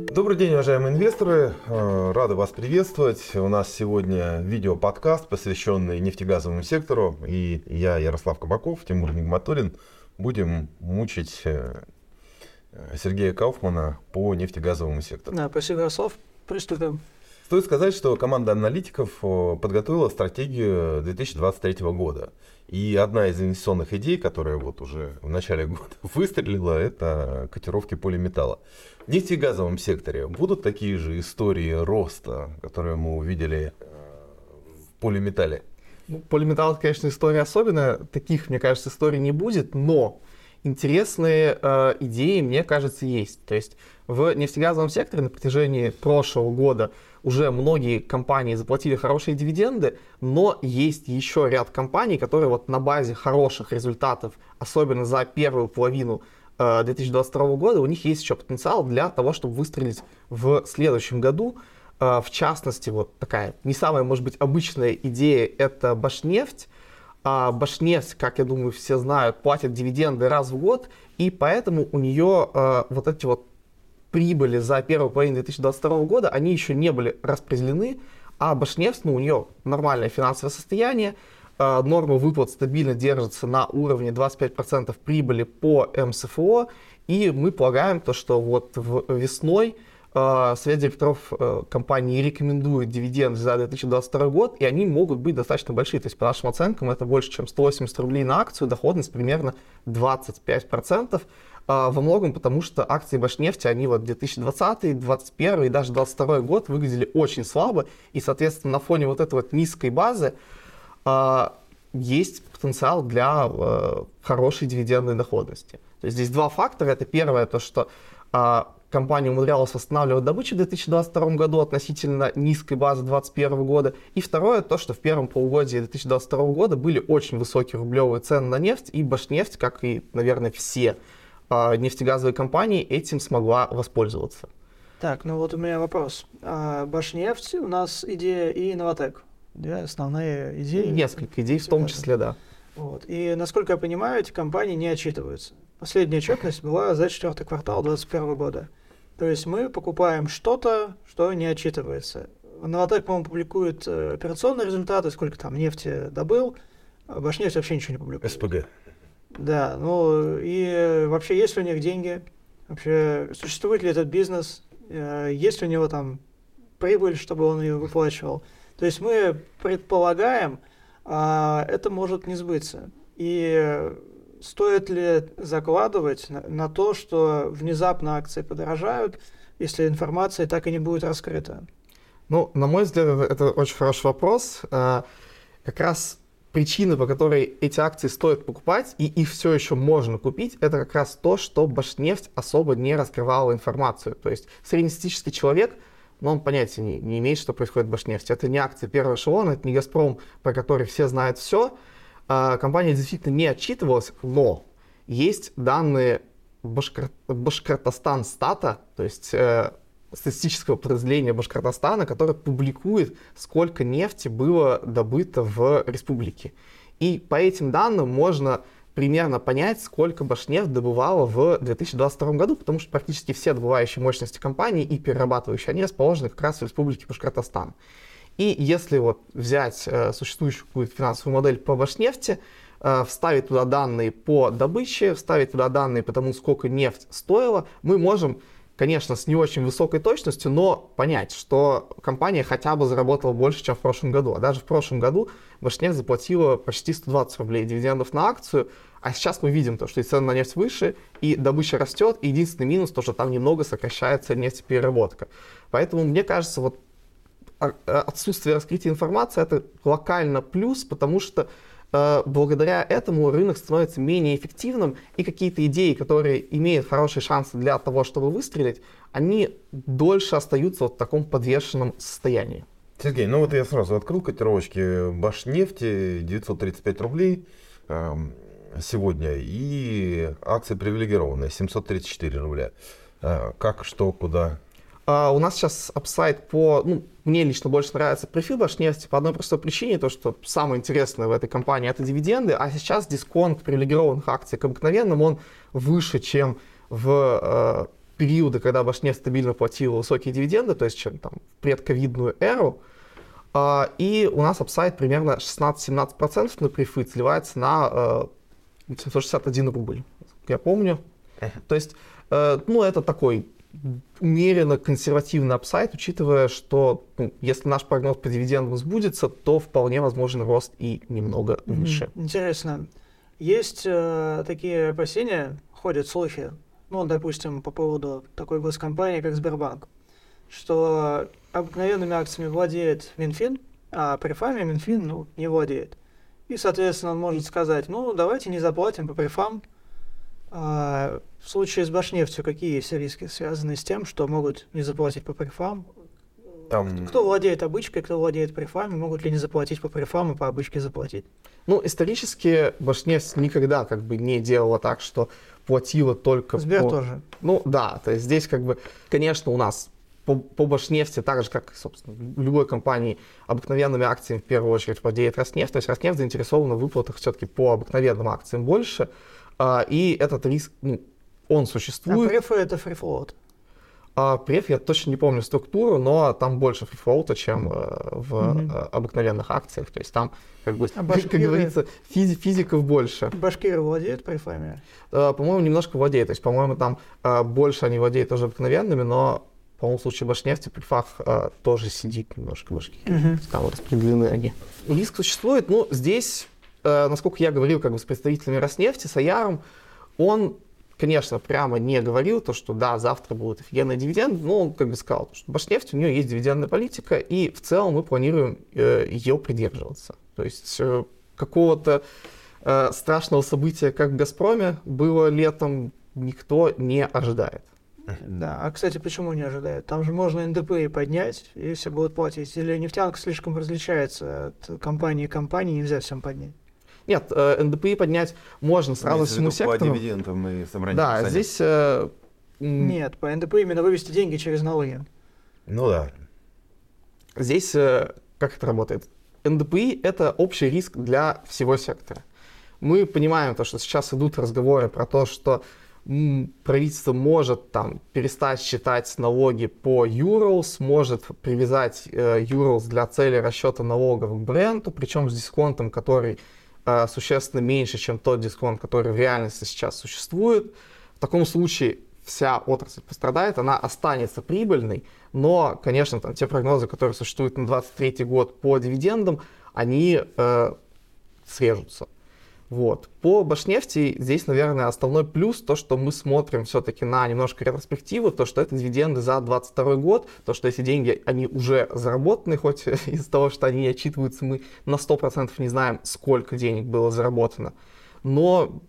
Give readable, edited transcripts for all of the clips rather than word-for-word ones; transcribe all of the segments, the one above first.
Добрый день, уважаемые инвесторы. Рады вас приветствовать. У нас сегодня видеоподкаст, посвященный нефтегазовому сектору. И я, Ярослав Кабаков, Тимур Нигматуллин, будем мучить Сергея Кауфмана по нефтегазовому сектору. Да, спасибо, Ярослав. Приступим. Стоит сказать, что команда аналитиков подготовила стратегию 2023 года. И одна из инвестиционных идей, которая вот уже в начале года выстрелила, это котировки полиметалла. В нефтегазовом секторе будут такие же истории роста, которые мы увидели в полиметалле? Полиметалл, конечно, история особенная. Таких, мне кажется, историй не будет, но интересные идеи, мне кажется, есть. То есть в нефтегазовом секторе на протяжении прошлого года уже многие компании заплатили хорошие дивиденды, но есть еще ряд компаний, которые вот на базе хороших результатов, особенно за первую половину 2022 года, у них есть еще потенциал для того, чтобы выстрелить в следующем году. В частности, вот такая не самая, может быть, обычная идея — это Башнефть. Башнефть, как я думаю, все знают, платит дивиденды раз в год, и поэтому у нее вот эти вот прибыли за первую половину 2022 года, они еще не были распределены, а Башнефть, у нее нормальное финансовое состояние, норма выплат стабильно держится на уровне 25% прибыли по МСФО, и мы полагаем, что вот весной Совет директоров компании рекомендует дивиденды за 2022 год, и они могут быть достаточно большие. То есть, по нашим оценкам, это больше, чем 180 рублей на акцию, доходность примерно 25%. Во многом потому, что акции Башнефти, они вот 2020, 2021 и даже 2022 год выглядели очень слабо, и, соответственно, на фоне вот этой вот низкой базы есть потенциал для хорошей дивидендной доходности. То есть здесь два фактора. Это первое, то что компания умудрялась восстанавливать добычу в 2022 году относительно низкой базы 2021 года. И второе, то, что в первом полугодии 2022 года были очень высокие рублевые цены на нефть, и Башнефть, как и, наверное, все нефтегазовые компании, этим смогла воспользоваться. Так, вот у меня вопрос. Башнефть, у нас идея и Новатэк. Две основные идеи. Несколько идей в том числе, да. Вот. И, насколько я понимаю, эти компании не отчитываются. Последняя отчетность была за 4-й квартал 2021 года. То есть мы покупаем что-то, что не отчитывается. Новатэк, по-моему, публикует операционные результаты, сколько там нефти добыл. Башнефть вообще ничего не публикует. СПГ. Да, и вообще есть ли у них деньги? Вообще существует ли этот бизнес? Есть ли у него там прибыль, чтобы он ее выплачивал? То есть мы предполагаем, это может не сбыться. И стоит ли закладывать на то, что внезапно акции подорожают, если информация так и не будет раскрыта? На мой взгляд, это очень хороший вопрос. Как раз причина, по которой эти акции стоит покупать, и их все еще можно купить, это как раз то, что Башнефть особо не раскрывала информацию. То есть среднестатистический человек, он понятия не имеет, что происходит в Башнефти. Это не акции первого эшелона, это не Газпром, про который все знают все. Компания действительно не отчитывалась, но есть данные Башкортостан стата, то есть статистического подразделения Башкортостана, которое публикует, сколько нефти было добыто в республике. И по этим данным можно примерно понять, сколько Башнефть добывала в 2022 году, потому что практически все добывающие мощности компании и перерабатывающие, они расположены как раз в республике Башкортостан. И если взять существующую какую-то финансовую модель по Башнефти, вставить туда данные по добыче, вставить туда данные по тому, сколько нефть стоила, мы можем, конечно, с не очень высокой точностью, но понять, что компания хотя бы заработала больше, чем в прошлом году. А даже в прошлом году Башнефть заплатила почти 120 рублей дивидендов на акцию, а сейчас мы видим, что и цены на нефть выше, и добыча растет, и единственный минус, то, что там немного сокращается нефтепереработка. Поэтому, мне кажется, отсутствие раскрытия информации — это локально плюс, потому что благодаря этому рынок становится менее эффективным, и какие-то идеи, которые имеют хорошие шансы для того, чтобы выстрелить, они дольше остаются в таком подвешенном состоянии. Сергей, я сразу открыл котировочки Башнефти, 935 рублей сегодня, и акции привилегированные, 734 рубля. Как, что, куда? У нас сейчас апсайд мне лично больше нравится префил Башнефти по одной простой причине, то что самое интересное в этой компании — это дивиденды, а сейчас дисконт привилегированных акций к обыкновенным, он выше, чем в периоды, когда Башнефть стабильно платила высокие дивиденды, то есть чем там в предковидную эру, и у нас апсайд примерно 16-17% на префит сливается на 761 рубль, я помню. То есть, ну, это такой умеренно консервативный апсайд, учитывая, что если наш прогноз по дивидендам сбудется, то вполне возможен рост и немного выше. Интересно. Есть такие опасения, ходят слухи, ну, допустим, по поводу такой госкомпании, как Сбербанк, что обыкновенными акциями владеет Минфин, а префами Минфин не владеет. И, соответственно, он может сказать, ну, давайте не заплатим по префам. В случае с Башнефтью какие есть риски, связанные с тем, что могут не заплатить по префам? Кто владеет обычкой, кто владеет префами, могут ли не заплатить по префам и по обычке заплатить? Ну, исторически Башнефть никогда как бы не делала так, что платила только Сбер тоже. Ну, да, то есть здесь как бы, конечно, у нас по Башнефти, так же, как, собственно, в любой компании, обыкновенными акциями в первую очередь владеет Роснефть. То есть Роснефть заинтересована в выплатах все-таки по обыкновенным акциям больше. И этот риск, он существует. А префы — это фрифлоут? Преф, я точно не помню структуру, но там больше фрифлоута, чем в обыкновенных акциях. То есть там, как бы, как говорится, физиков больше. Башкиры владеют префами? По-моему, немножко владеют. То есть, по-моему, там больше они владеют тоже обыкновенными, но по-моему, в случае Башнефти при префах тоже сидит немножко Башкирии. Там распределены они. Риск существует. Ну, здесь, насколько я говорил как бы с представителями Роснефти, с Аяром, он, конечно, прямо не говорил то, что да, завтра будут офигенные дивиденды, но он как бы сказал, что Башнефть, у нее есть дивидендная политика, и в целом мы планируем ее придерживаться. То есть какого-то страшного события, как в «Газпроме» было летом, никто не ожидает. Да, а, кстати, почему не ожидают? Там же можно НДПИ поднять, и все будут платить. Или нефтянка слишком различается от компании к компании, нельзя всем поднять? Нет, НДПИ поднять можно сразу всему сектору. По дивидендам и собранию. Да, здесь... Нет, по НДПИ именно вывести деньги через налоги. Ну да. Здесь как это работает? НДПИ — это общий риск для всего сектора. Мы понимаем то, что сейчас идут разговоры про то, что правительство может там перестать считать налоги по Urals, может привязать Urals для цели расчета налогов к бренду, причем с дисконтом, который существенно меньше, чем тот дисконт, который в реальности сейчас существует. В таком случае вся отрасль пострадает, она останется прибыльной, но, конечно, там, те прогнозы, которые существуют на 2023 год по дивидендам, они срежутся. Вот. По Башнефти здесь, наверное, основной плюс то, что мы смотрим все-таки на немножко ретроспективу, то, что это дивиденды за 2022 год, то, что эти деньги, они уже заработаны, хоть из-за того, что они не отчитываются, мы на 100% не знаем, сколько денег было заработано. Но,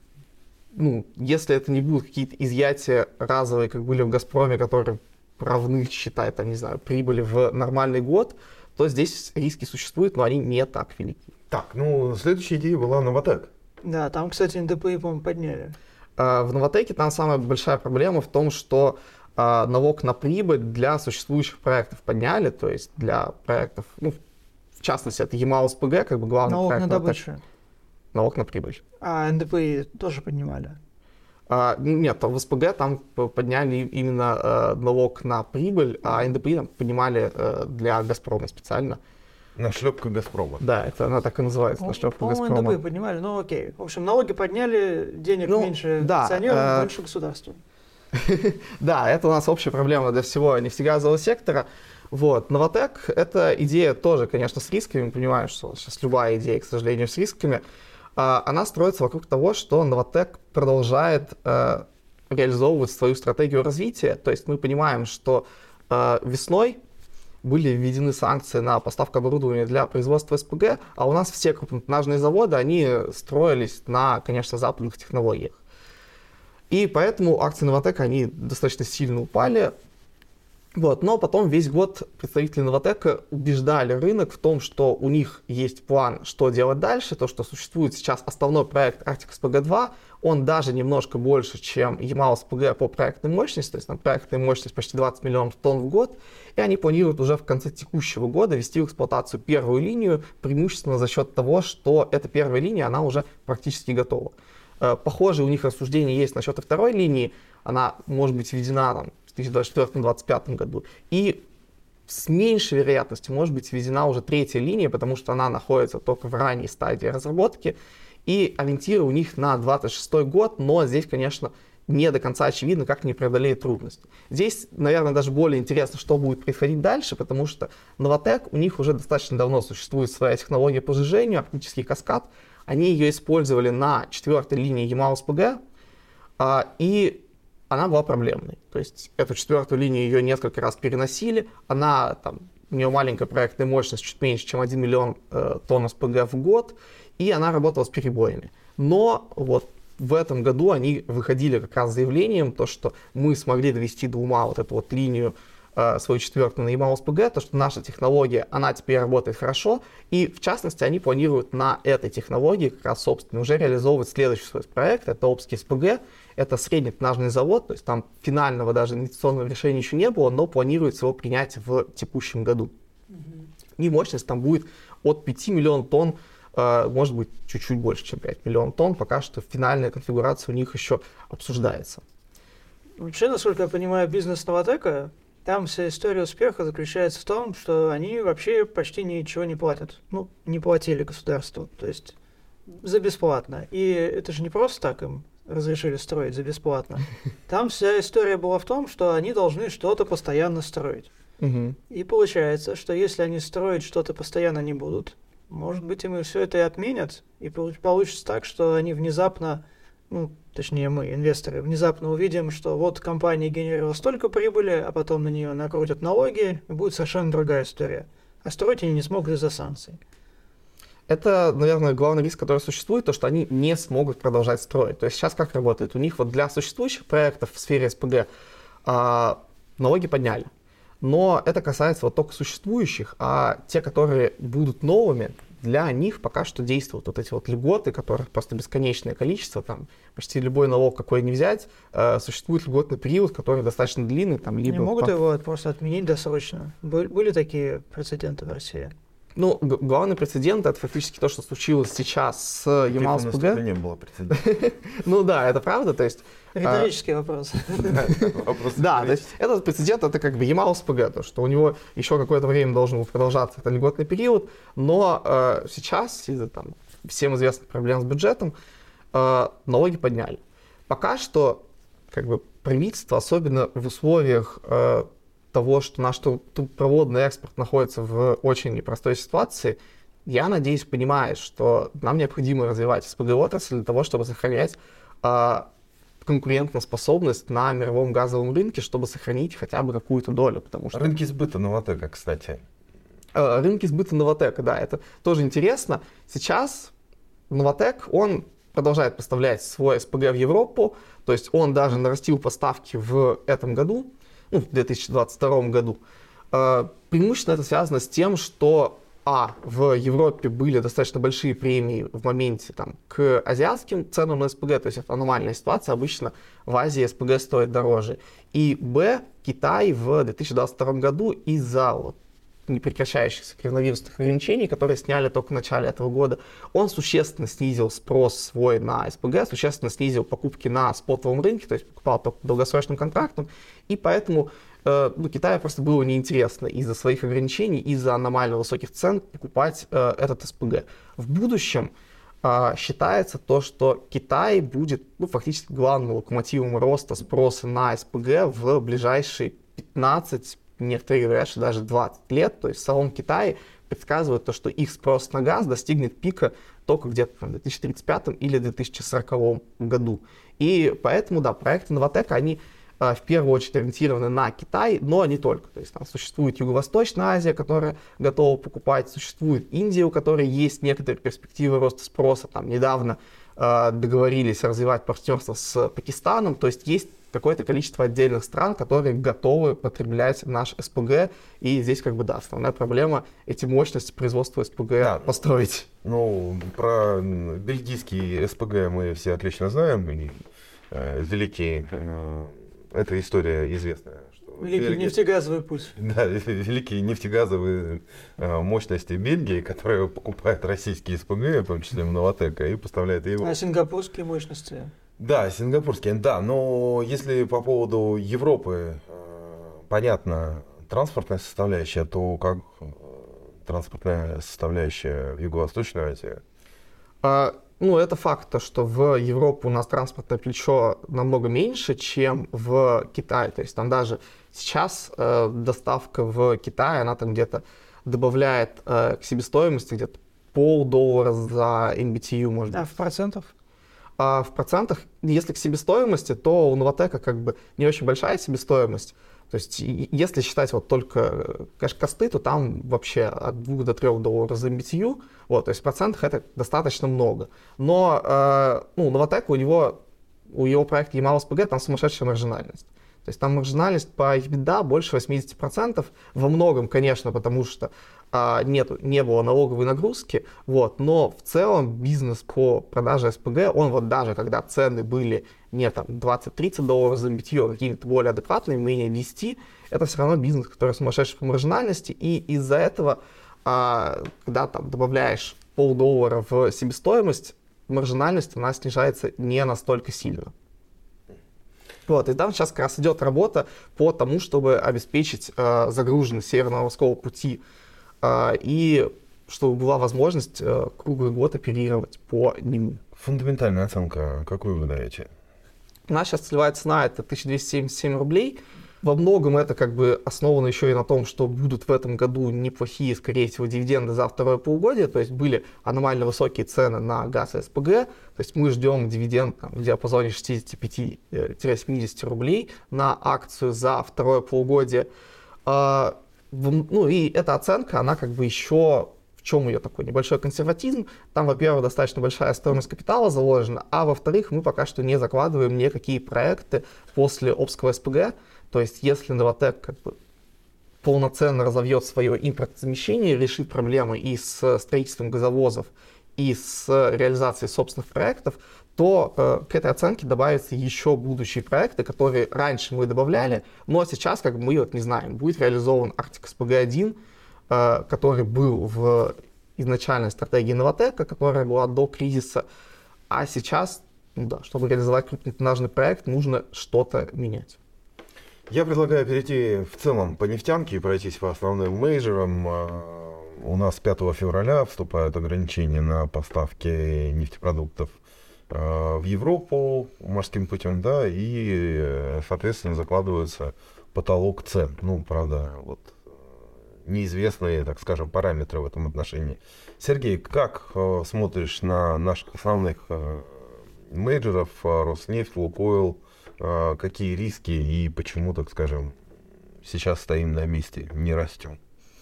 если это не будут какие-то изъятия разовые, как были в «Газпроме», которые равны, считают, там, не знаю, прибыли в нормальный год, то здесь риски существуют, но они не так велики. Так, следующая идея была Новатэк. Да, там, кстати, НДПИ, по-моему, подняли. В Новатэке там самая большая проблема в том, что налог на прибыль для существующих проектов подняли, то есть для проектов, в частности, это Ямал-СПГ, как бы главный налог проект. Налог на добычу. Налог на прибыль. А НДПИ тоже поднимали? Нет, в СПГ там подняли именно налог на прибыль, а НДПИ там поднимали для «Газпрома» специально. Нашлепка «Газпрома». Да, это она так и называется, нашлепка «Газпрома». По-моему, НДПИ поднимали, окей. В общем, налоги подняли, денег меньше акционеров, больше государству. Да, это у нас общая проблема для всего нефтегазового сектора. Вот. Новатэк — это идея тоже, конечно, с рисками. Мы понимаем, что сейчас любая идея, к сожалению, с рисками. Она строится вокруг того, что Новатэк продолжает реализовывать свою стратегию развития. То есть мы понимаем, что весной были введены санкции на поставку оборудования для производства СПГ, а у нас все крупнотоннажные заводы, они строились на, конечно, западных технологиях. И поэтому акции Новатэка, они достаточно сильно упали. Вот. Но потом весь год представители Новатэка убеждали рынок в том, что у них есть план, что делать дальше, то, что существует сейчас основной проект Arctic SPG-2, он даже немножко больше, чем Ямал-СПГ по проектной мощности, то есть там проектная мощность почти 20 миллионов тонн в год, и они планируют уже в конце текущего года ввести в эксплуатацию первую линию, преимущественно за счет того, что эта первая линия, она уже практически готова. Похожие у них рассуждения есть насчет и второй линии, она может быть введена 2024-2025 году. И с меньшей вероятностью может быть введена уже третья линия, потому что она находится только в ранней стадии разработки. И ориентиры у них на 26 год, но здесь, конечно, не до конца очевидно, как они преодолеют трудности. Здесь, наверное, даже более интересно, что будет происходить дальше, потому что Novatek, у них уже достаточно давно существует своя технология по сжижению, оптический каскад. Они ее использовали на 4-й линии EMAL-SPG, и она была проблемной. То есть эту 4-ю линию ее несколько раз переносили. У нее маленькая проектная мощность, чуть меньше, чем 1 миллион тонн СПГ в год, и она работала с перебоями. Но вот в этом году они выходили как раз с заявлением, то, что мы смогли довести до ума вот эту вот линию, свою 4-ю на EMAL-SPG, то, что наша технология, она теперь работает хорошо, и в частности они планируют на этой технологии как раз, собственно, уже реализовывать следующий свой проект, это Обский СПГ, это среднетоннажный завод, то есть там финального даже инвестиционного решения еще не было, но планируется его принять в текущем году. И мощность там будет от 5 миллионов тонн, может быть, чуть-чуть больше, чем 5 миллионов тонн, пока что финальная конфигурация у них еще обсуждается. Вообще, насколько я понимаю, бизнес Novatec, там вся история успеха заключается в том, что они вообще почти ничего не платят. Ну, не платили государству, то есть за бесплатно. И это же не просто так им разрешили строить за бесплатно. Там вся история была в том, что они должны что-то постоянно строить. И получается, что если они строить что-то постоянно не будут, может быть, им и все это и отменят, и получится так, что они внезапно, точнее мы, инвесторы, внезапно увидим, что вот компания генерировала столько прибыли, а потом на нее накрутят налоги, и будет совершенно другая история. А строить они не смогут из-за санкций. Это, наверное, главный риск, который существует, то, что они не смогут продолжать строить. То есть сейчас как работает? У них вот для существующих проектов в сфере СПГ налоги подняли. Но это касается вот только существующих, а те, которые будут новыми, для них пока что действуют вот эти вот льготы, которых просто бесконечное количество, там почти любой налог, какой не взять, существует льготный период, который достаточно длинный. Там, либо не могут его просто отменить досрочно? Были такие прецеденты в России? Ну, главный прецедент — это фактически то, что случилось сейчас с EMAL-SPG. Не было прецедента. Ну да, это правда, то есть... Риторический вопрос. Да, то есть этот прецедент — это как бы EMAL-SPG, то, что у него еще какое-то время должен был продолжаться, это льготный период, но сейчас из-за там всем известных проблем с бюджетом налоги подняли. Пока что как бы правительство, особенно в условиях того, что наш трубопроводный экспорт находится в очень непростой ситуации, я надеюсь, понимает, что нам необходимо развивать СПГ-отрасль для того, чтобы сохранять конкурентоспособность на мировом газовом рынке, чтобы сохранить хотя бы какую-то долю. Потому что... Рынки сбыта Novatec, кстати. Рынки сбыта Novatec, да, это тоже интересно. Сейчас Novatec, он продолжает поставлять свой СПГ в Европу, то есть он даже нарастил поставки в этом году, в 2022 году. Преимущественно это связано с тем, что в Европе были достаточно большие премии в моменте к азиатским ценам на СПГ, то есть это аномальная ситуация, обычно в Азии СПГ стоит дороже. И Китай в 2022 году из-за непрекращающихся коронавирусных ограничений, которые сняли только в начале этого года, он существенно снизил спрос свой на СПГ, существенно снизил покупки на спотовом рынке, то есть покупал только долгосрочным контрактом, и поэтому Китаю просто было неинтересно из-за своих ограничений, из-за аномально высоких цен покупать этот СПГ. В будущем считается то, что Китай будет фактически главным локомотивом роста спроса на СПГ в ближайшие 15, некоторые говорят, что даже 20 лет. То есть в самом Китае предсказывают то, что их спрос на газ достигнет пика только где-то в 2035 или 2040 году. И поэтому, да, проекты Novatec, они в первую очередь ориентированы на Китай, но не только. То есть там существует Юго-Восточная Азия, которая готова покупать, существует Индия, у которой есть некоторые перспективы роста спроса. Там недавно договорились развивать партнерство с Пакистаном, то есть есть какое-то количество отдельных стран, которые готовы потреблять наш СПГ, и здесь основная проблема эти мощности производства СПГ построить. Про бельгийский СПГ мы все отлично знаем, и великий... Эта история известная. Великий нефтегазовый путь. Да, великие нефтегазовые мощности Бельгии, которые покупают российские СПГ, в том числе Novatec, и поставляют его. А сингапурские мощности? Да, сингапурские, да. Но если по поводу Европы понятно, транспортная составляющая, то как транспортная составляющая в Юго-Восточной Азии? Ну, это факт, то, что в Европу у нас транспортное плечо намного меньше, чем в Китае. То есть там даже сейчас доставка в Китай, она там где-то добавляет к себестоимости где-то $0,50 за MBTU, может быть. А в процентах? А в процентах, если к себестоимости, то у Новатэка как бы не очень большая себестоимость. То есть если считать вот только кэш-косты, то там вообще от $2 до $3 за MBTU. Вот, то есть в процентах это достаточно много. Но ну, Новатэк, у его проекта Ямал-СПГ там сумасшедшая маржинальность. То есть там маржинальность по EBITDA больше 80%. Во многом, конечно, потому что не было налоговой нагрузки, вот, но в целом бизнес по продаже СПГ, он вот даже когда цены были не там $20-30 за MBTU, а какие-то более адекватные, менее 10, это все равно бизнес, который сумасшедший по маржинальности, и из-за этого, когда там добавляешь $0,50 в себестоимость, маржинальность она снижается не настолько сильно. Вот, и там сейчас как раз идет работа по тому, чтобы обеспечить загруженность Северно-Морского пути и чтобы была возможность круглый год оперировать по нему. Фундаментальная оценка, какую вы даете? У нас сейчас целевая цена это 1277 рублей. Во многом это как бы основано еще и на том, что будут в этом году неплохие, скорее всего, дивиденды за второе полугодие. То есть были аномально высокие цены на газ и СПГ. То есть мы ждем дивиденд там, в диапазоне 65-70 рублей на акцию за второе полугодие. Ну и эта оценка, она как бы еще, в чем ее такой небольшой консерватизм? Там, во-первых, достаточно большая стоимость капитала заложена, а во-вторых, мы пока что не закладываем никакие проекты после Обского СПГ. То есть если Новатэк как бы полноценно разовьет свое импортозамещение, решит проблемы и с строительством газовозов, и с реализацией собственных проектов, то к этой оценке добавятся еще будущие проекты, которые раньше мы добавляли, но сейчас как бы мы вот не знаем, будет реализован Arctic SPG-1, который был в изначальной стратегии Новатэка, которая была до кризиса, а сейчас, ну да, чтобы реализовать крупнотоннажный проект, нужно что-то менять. Я предлагаю перейти в целом по нефтянке и пройтись по основным мейджорам. У нас 5 февраля вступают ограничения на поставки нефтепродуктов в Европу морским путем, да, и, соответственно, закладывается потолок цен. Ну, правда, вот неизвестные, так скажем, параметры в этом отношении. Сергей, как смотришь на наших основных мейджоров, Роснефть, Лукойл, какие риски и почему, так скажем, сейчас стоим на месте, не растем?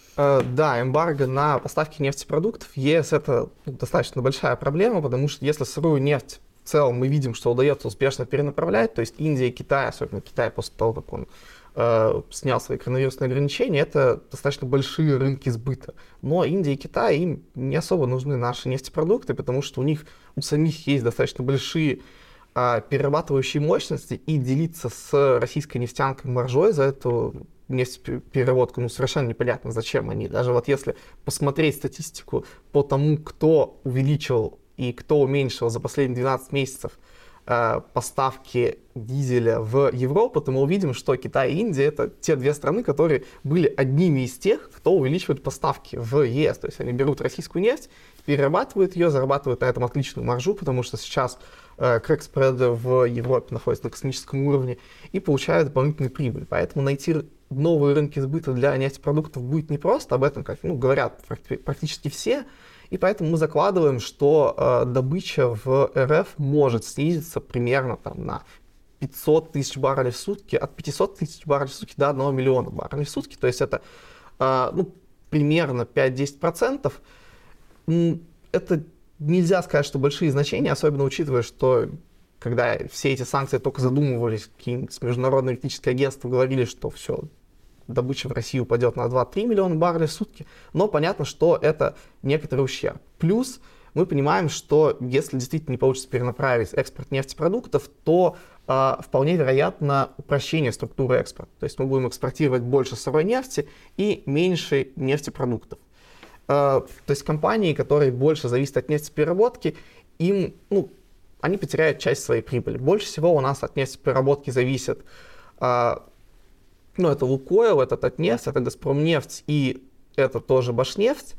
Да, эмбарго на поставки нефтепродуктов в ЕС это достаточно большая проблема, потому что если сырую нефть в целом мы видим, что удается успешно перенаправлять, то есть Индия и Китай, особенно Китай после того, как он снял свои коронавирусные ограничения, это достаточно большие рынки сбыта. Но Индия и Китай, им не особо нужны наши нефтепродукты, потому что у самих есть достаточно большие перерабатывающие мощности, и делиться с российской нефтянкой маржой за эту нефтепереработку, ну, совершенно непонятно, зачем они. Даже вот если посмотреть статистику по тому, кто увеличил и кто уменьшил за последние 12 месяцев поставки дизеля в Европу, то мы увидим, что Китай и Индия — это те две страны, которые были одними из тех, кто увеличивает поставки в ЕС. То есть они берут российскую нефть, перерабатывают ее, зарабатывают на этом отличную маржу, потому что сейчас крэк-спреды в Европе находятся на космическом уровне и получают дополнительную прибыль. Поэтому найти новые рынки сбыта для нефтепродуктов будет непросто, об этом как, говорят практически все. И поэтому мы закладываем, что добыча в РФ может снизиться примерно там, на 500 тысяч баррелей в сутки, от 500 тысяч баррелей в сутки до 1 миллиона баррелей в сутки. То есть это примерно 5-10%. Это нельзя сказать, что большие значения, особенно учитывая, что когда все эти санкции только задумывались, какие-нибудь международные электрические агентства говорили, что все, добыча в России упадет на 2-3 миллиона баррелей в сутки, но понятно, что это некоторый ущерб. Плюс мы понимаем, что если действительно не получится перенаправить экспорт нефтепродуктов, то вполне вероятно упрощение структуры экспорта. То есть мы будем экспортировать больше сырой нефти и меньше нефтепродуктов. То есть компании, которые больше зависят от нефтепереработки, они потеряют часть своей прибыли. Больше всего у нас от нефтепереработки зависят Ну, это Лукойл, это Татнефть, это Газпромнефть и это тоже Башнефть.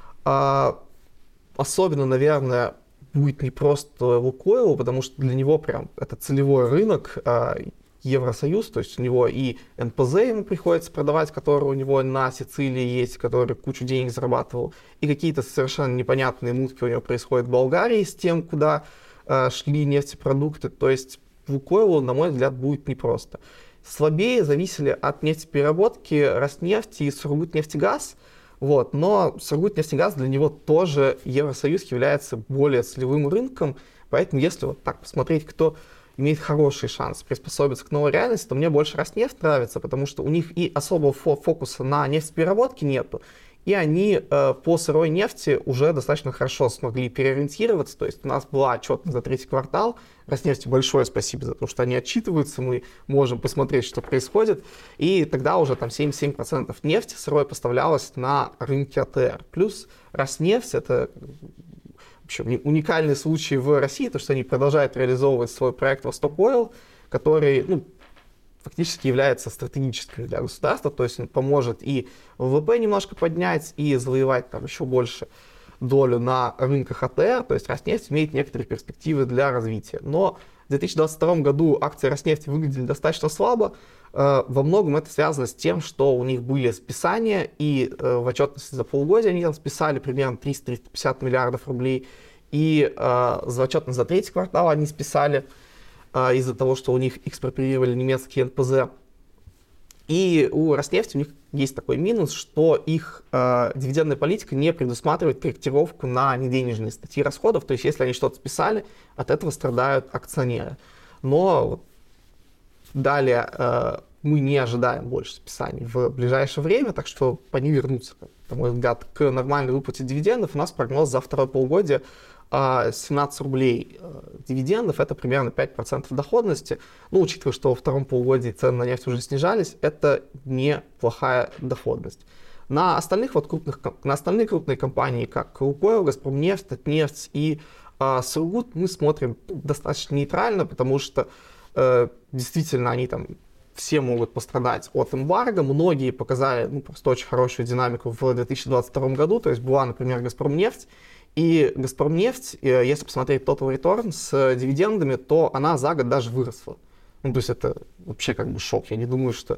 Особенно, наверное, будет не просто Лукойл, потому что для него прям это целевой рынок, Евросоюз, то есть у него и НПЗ ему приходится продавать, который у него на Сицилии есть, который кучу денег зарабатывал, и какие-то совершенно непонятные мутки у него происходят в Болгарии с тем, куда шли нефтепродукты. То есть Лукойлу, на мой взгляд, будет непросто. Слабее зависели от нефтепереработки Роснефть и Сургутнефтегаз. Вот. Но Сургутнефтегаз для него тоже Евросоюз является более целевым рынком. Поэтому если вот так посмотреть, кто имеет хороший шанс приспособиться к новой реальности, то мне больше Роснефть нравится, потому что у них и особого фокуса на нефтепереработке нету. И они по сырой нефти уже достаточно хорошо смогли переориентироваться. То есть у нас была отчетность за третий квартал. Роснефти большое спасибо за то, что они отчитываются. Мы можем посмотреть, что происходит. И тогда уже там 77% нефти сырой поставлялось на рынке АТР. Плюс Роснефть — это вообще уникальный случай в России, то, что они продолжают реализовывать свой проект «Восток Ойл», который, фактически является стратегическим для государства, то есть он поможет и ВВП немножко поднять, и завоевать там еще больше долю на рынках АТР, то есть Роснефть имеет некоторые перспективы для развития. Но в 2022 году акции Роснефти выглядели достаточно слабо. Во многом это связано с тем, что у них были списания, и в отчетности за полугодие они там списали примерно 300-350 миллиардов рублей, и за отчетность за третий квартал они списали из-за того, что у них экспроприировали немецкие НПЗ. И у Роснефти у них есть такой минус, что их дивидендная политика не предусматривает корректировку на неденежные статьи расходов. То есть если они что-то списали, от этого страдают акционеры. Но далее мы не ожидаем больше списаний в ближайшее время, так что они вернутся, на мой взгляд, к нормальной выплате дивидендов. У нас прогноз за второе полугодие 17 рублей дивидендов, это примерно 5% доходности. Учитывая, что во втором полугодии цены на нефть уже снижались, это неплохая доходность. На остальные крупные компании, как Лукойл, Газпромнефть, Татнефть и Сургут, мы смотрим достаточно нейтрально, потому что действительно они там все могут пострадать от эмбарго. Многие показали просто очень хорошую динамику в 2022 году. То есть была, например, Газпромнефть. И Газпромнефть, если посмотреть total return с дивидендами, то она за год даже выросла. То есть это вообще как бы шок. Я не думаю, что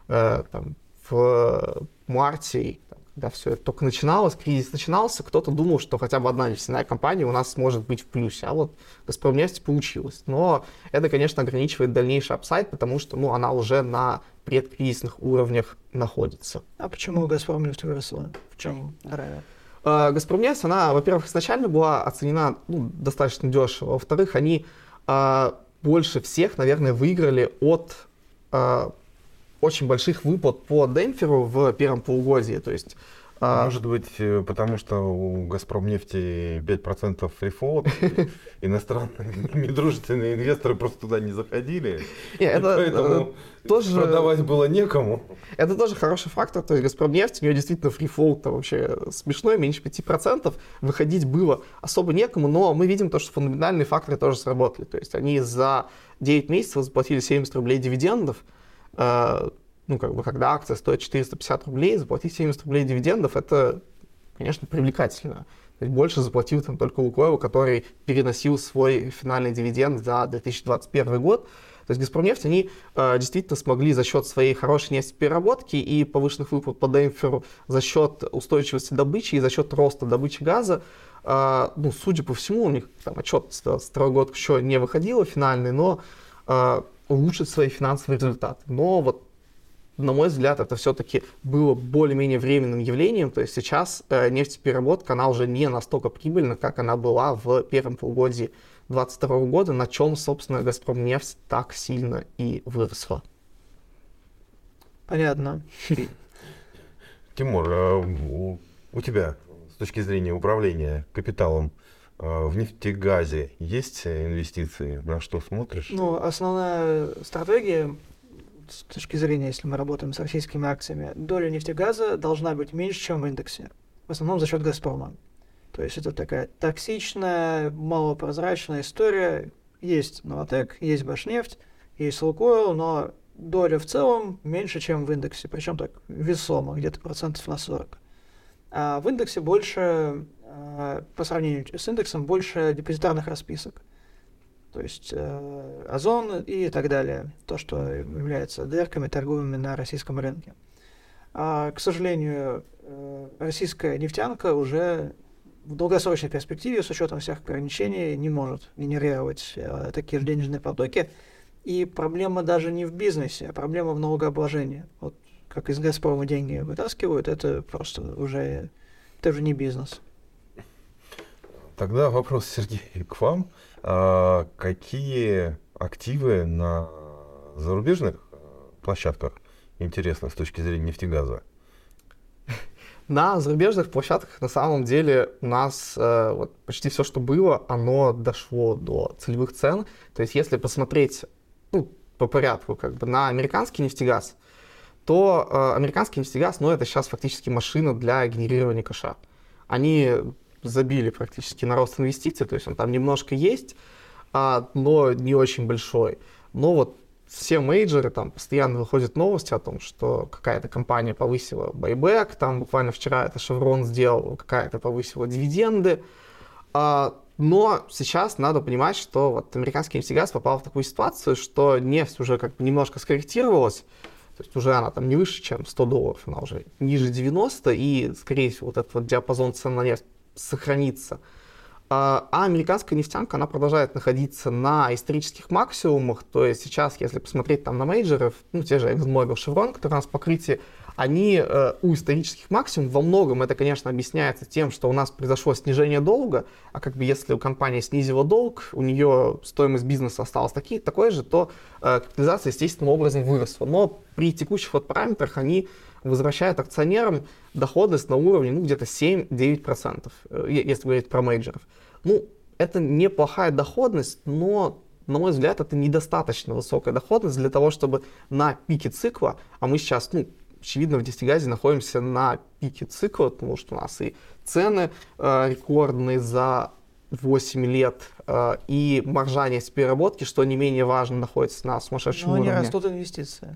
в марте, когда все это только начиналось, кризис начинался, кто-то думал, что хотя бы одна нефтяная компания у нас может быть в плюсе. А вот Газпромнефть получилось. Но это, конечно, ограничивает дальнейший апсайд, потому что она уже на предкризисных уровнях находится. А почему Газпромнефть выросла? В чем равен? Газпромнефть, она, во-первых, изначально была оценена достаточно дешево. Во-вторых, они больше всех, наверное, выиграли от очень больших выплат по демпферу в первом полугодии. То есть, может быть, потому что у Газпромнефти 5% фрифлот, иностранные недружественные инвесторы просто туда не заходили, поэтому тоже продавать было некому. Это тоже хороший фактор, то есть Газпромнефть, у нее действительно фрифлоут вообще смешной, меньше 5%, выходить было особо некому, но мы видим то, что фундаментальные факторы тоже сработали, то есть они за 9 месяцев заплатили 70 рублей дивидендов, когда акция стоит 450 рублей, заплатить 70 рублей дивидендов, это, конечно, привлекательно. То есть больше заплатил там только Лукойл, который переносил свой финальный дивиденд за 2021 год. То есть Газпромнефть, они действительно смогли за счет своей хорошей нефтепереработки и повышенных выплат по демпферу, за счет устойчивости добычи и за счет роста добычи газа, судя по всему, у них там отчет за 2022 год еще не выходила финальный, но улучшить свои финансовые результаты. Но вот, на мой взгляд, это все-таки было более-менее временным явлением. То есть сейчас нефтепереработка, она уже не настолько прибыльна, как она была в первом полугодии 2022 года, на чем, собственно, Газпромнефть так сильно и выросла. Понятно. Тимур, у тебя с точки зрения управления капиталом в нефтегазе есть инвестиции? На что смотришь? Основная стратегия с точки зрения, если мы работаем с российскими акциями, доля нефтегаза должна быть меньше, чем в индексе. В основном за счет Газпрома. То есть это такая токсичная, малопрозрачная история. Есть Новатэк, есть Башнефть, есть Лукойл, но доля в целом меньше, чем в индексе, причем так весомо, где-то процентов на 40. А в индексе больше, по сравнению с индексом, больше депозитарных расписок. То есть Озон и так далее. То, что является дырками, торгуемыми на российском рынке. К сожалению, российская нефтянка уже в долгосрочной перспективе, с учетом всех ограничений, не может генерировать такие же денежные потоки. И проблема даже не в бизнесе, а проблема в налогообложении. Вот как из «Газпрома» деньги вытаскивают, это просто уже, это уже не бизнес. Тогда вопрос, Сергей, к вам. Какие активы на зарубежных площадках интересны с точки зрения нефтегаза? На зарубежных площадках на самом деле у нас вот, почти все, что было, оно дошло до целевых цен. То есть если посмотреть по порядку на американский нефтегаз, то американский нефтегаз, это сейчас фактически машина для генерирования кэша. Они забили практически на рост инвестиций, то есть он там немножко есть, но не очень большой. Но вот все мейджоры, там постоянно выходят новости о том, что какая-то компания повысила байбэк, там буквально вчера это Chevron сделал, какая-то повысила дивиденды. Но сейчас надо понимать, что вот американский нефтегаз попал в такую ситуацию, что нефть уже немножко скорректировалась, то есть уже она там не выше, чем $100, она уже ниже 90, и, скорее всего, вот этот вот диапазон цен на нефть сохранится. А американская нефтянка, она продолжает находиться на исторических максимумах, то есть сейчас, если посмотреть там на мейджоров, те же ExxonMobil, Chevron, которые у нас в покрытии, они у исторических максимумов, во многом это, конечно, объясняется тем, что у нас произошло снижение долга, а если у компании снизила долг, у нее стоимость бизнеса осталась такой же, то капитализация естественным образом выросла. Но при текущих параметрах они возвращают акционерам доходность на уровне где-то 7-9%, если говорить про мейджоров. Это неплохая доходность, но, на мой взгляд, это недостаточно высокая доходность для того, чтобы на пике цикла, а мы сейчас, очевидно, в нефтегазе находимся на пике цикла, потому что у нас и цены рекордные за 8 лет, и маржа нефтепереработки, что не менее важно, находится на сумасшедшем уровне. Но они растут инвестиции.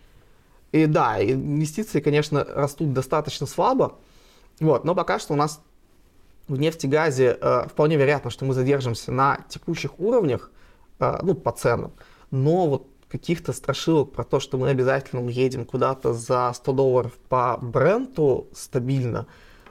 И да, инвестиции, конечно, растут достаточно слабо, но пока что у нас в нефтегазе вполне вероятно, что мы задержимся на текущих уровнях, по ценам, но каких-то страшилок про то, что мы обязательно уедем куда-то за $100 по Бренту стабильно,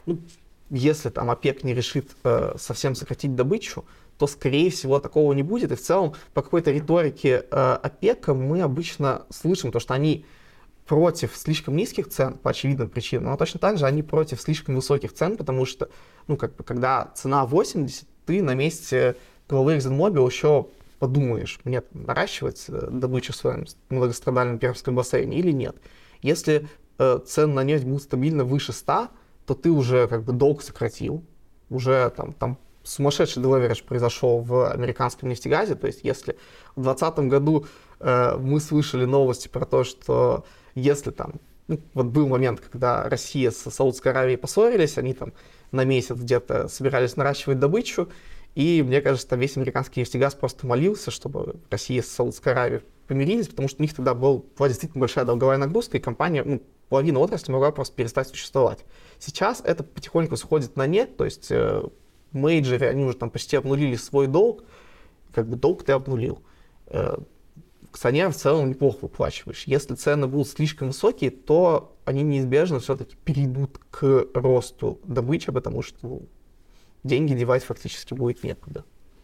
если там ОПЕК не решит совсем сократить добычу, то, скорее всего, такого не будет. И в целом, по какой-то риторике ОПЕКа мы обычно слышим то, что они против слишком низких цен по очевидным причинам, но точно так же они против слишком высоких цен, потому что, когда цена 80, ты на месте главы ExxonMobil еще подумаешь, мне наращивать добычу в своем многострадальном Пермском бассейне или нет. Если цены на нефть будут стабильно выше 100, то ты уже долг сократил, уже там сумасшедший делеверидж произошел в американском нефтегазе, то есть если в 2020 году мы слышали новости про то, что если был момент, когда Россия с Саудовской Аравией поссорились, они там на месяц где-то собирались наращивать добычу, и мне кажется, весь американский нефтегаз просто молился, чтобы Россия с Саудовской Аравией помирились, потому что у них тогда была действительно большая долговая нагрузка, и компания, половина отрасли могла просто перестать существовать. Сейчас это потихоньку сходит на нет, то есть мейджоры, они уже там почти обнулили свой долг, долг ты обнулил. Акционерам в целом неплохо выплачиваешь. Если цены будут слишком высокие, то они неизбежно все-таки перейдут к росту добычи, потому что деньги девать фактически будет некуда.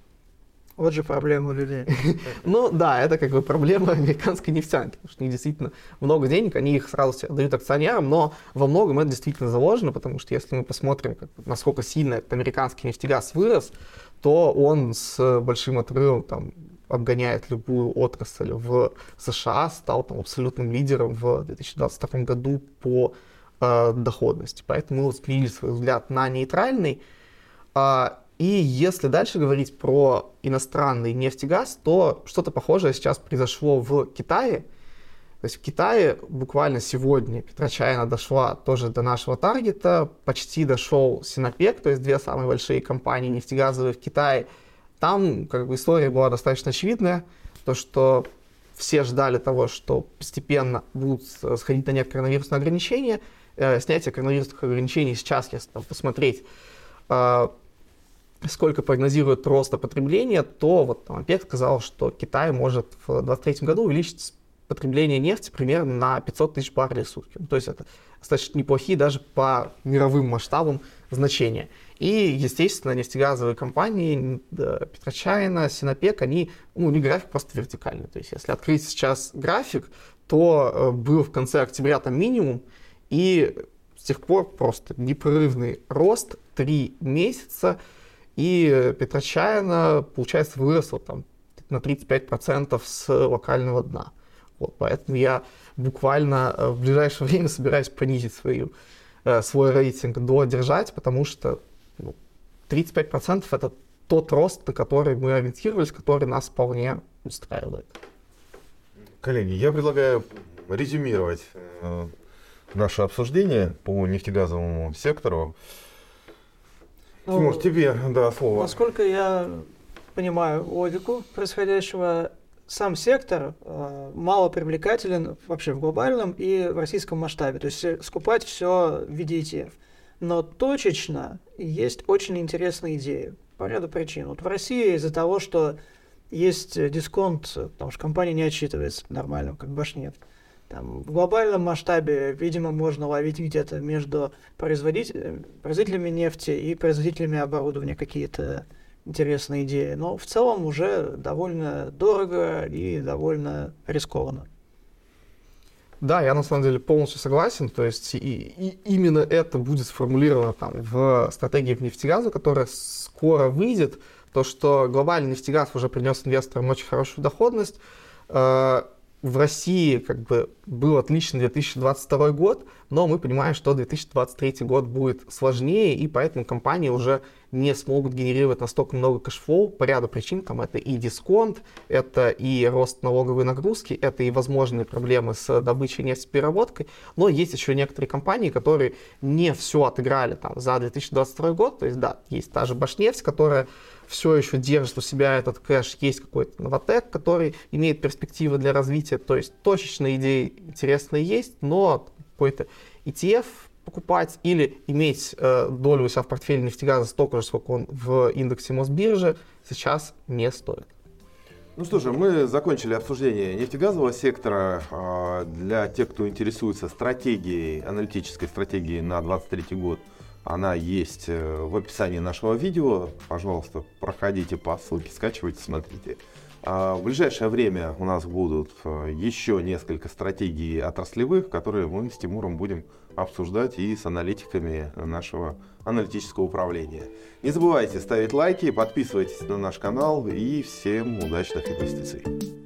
Вот же проблема у людей. Да, это проблема американской нефтянки, потому что у них действительно много денег, они их сразу себе дают акционерам, но во многом это действительно заложено, потому что если мы посмотрим, насколько сильно этот американский нефтегаз вырос, то он с большим отрывом обгоняет любую отрасль в США, стал абсолютным лидером в 2022 году по доходности. Поэтому мы сменили свой взгляд на нейтральный. И если дальше говорить про иностранный нефтегаз, то что-то похожее сейчас произошло в Китае. То есть в Китае буквально сегодня PetroChina дошла тоже до нашего таргета, почти дошел Sinopec, то есть две самые большие компании нефтегазовые в Китае. Там история была достаточно очевидная, то что все ждали того, что постепенно будут сходить на нет коронавирусные ограничения. Снятие коронавирусных ограничений сейчас, если там посмотреть, сколько прогнозирует роста потребления, то вот там ОПЕК сказал, что Китай может в 2023 году увеличить потребление нефти примерно на 500 тысяч баррелей в сутки. То есть это достаточно неплохие даже по мировым масштабам значения. И, естественно, нефтегазовые компании, Петрочайна, Синопек, они, у них график просто вертикальный. То есть если открыть сейчас график, то был в конце октября там минимум, и с тех пор просто непрерывный рост, 3 месяца, и Петрочайна, получается, выросла там на 35% с локального дна. Вот, поэтому я буквально в ближайшее время собираюсь понизить свой рейтинг до держать, потому что 35% это тот рост, на который мы ориентировались, который нас вполне устраивает. Коллеги, я предлагаю резюмировать наше обсуждение по нефтегазовому сектору. Тимур, тебе слово. Насколько я понимаю логику происходящего, сам сектор мало привлекателен вообще в глобальном и в российском масштабе. То есть скупать все в виде ETF. Но точечно есть очень интересные идеи по ряду причин. Вот в России из-за того, что есть дисконт, потому что компания не отчитывается нормально, как Башнефть. Там, в глобальном масштабе, видимо, можно ловить где-то между производителями нефти и производителями оборудования какие-то интересные идеи. Но в целом уже довольно дорого и довольно рискованно. Да, я на самом деле полностью согласен. То есть и именно это будет сформулировано там, в стратегии нефтегаза, которая скоро выйдет. То, что глобальный нефтегаз уже принес инвесторам очень хорошую доходность. В России как бы был отличный 2022 год, но мы понимаем, что 2023 год будет сложнее, и поэтому компании уже не смогут генерировать настолько много кэшфлоу по ряду причин. Там это и дисконт, это и рост налоговой нагрузки, это и возможные проблемы с добычей нефтепереработкой. Но есть еще некоторые компании, которые не все отыграли там, за 2022 год. То есть да, есть та же Башнефть, которая все еще держит у себя этот кэш, есть какой-то Новотек, который имеет перспективы для развития, то есть точечные идеи интересные есть, но какой-то ETF покупать или иметь долю у себя в портфеле нефтегаза столько же, сколько он в индексе Мосбиржи, сейчас не стоит. Ну что же, мы закончили обсуждение нефтегазового сектора. Для тех, кто интересуется аналитической стратегией на 2023 год, она есть в описании нашего видео. Пожалуйста, проходите по ссылке, скачивайте, смотрите. В ближайшее время у нас будут еще несколько стратегий отраслевых, которые мы с Тимуром будем обсуждать и с аналитиками нашего аналитического управления. Не забывайте ставить лайки, подписывайтесь на наш канал и всем удачных инвестиций.